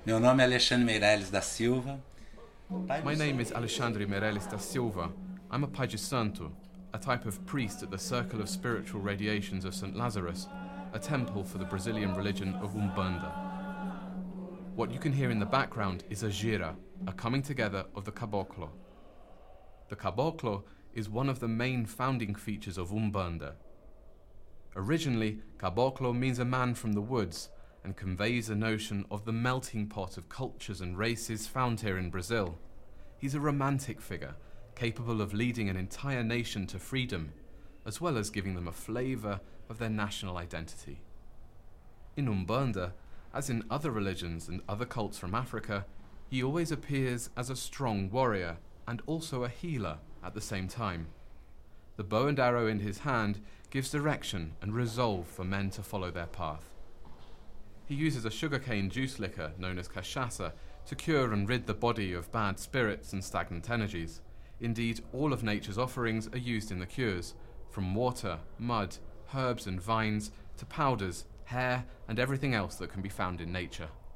Meu nome é Alexandre Meirelles da Silva. My name is Alexandre Meirelles da Silva. I'm a Pai de Santo, a type of priest at the Circle of Spiritual Radiations of St. Lazarus, a temple for the Brazilian religion of Umbanda. What you can hear in the background is a gira, a coming together of the caboclo. The caboclo is one of the main founding features of Umbanda. Originally, caboclo means a man from the woods and conveys a notion of the melting pot of cultures and races found here in Brazil. He's a romantic figure, capable of leading an entire nation to freedom, as well as giving them a flavour of their national identity. In Umbanda, as in other religions and other cults from Africa, he always appears as a strong warrior and also a healer at the same time. The bow and arrow in his hand gives direction and resolve for men to follow their path. He uses a sugarcane juice liquor known as cachaça to cure and rid the body of bad spirits and stagnant energies. Indeed, all of nature's offerings are used in the cures, from water, mud, herbs and vines, to powders, hair, and everything else that can be found in nature.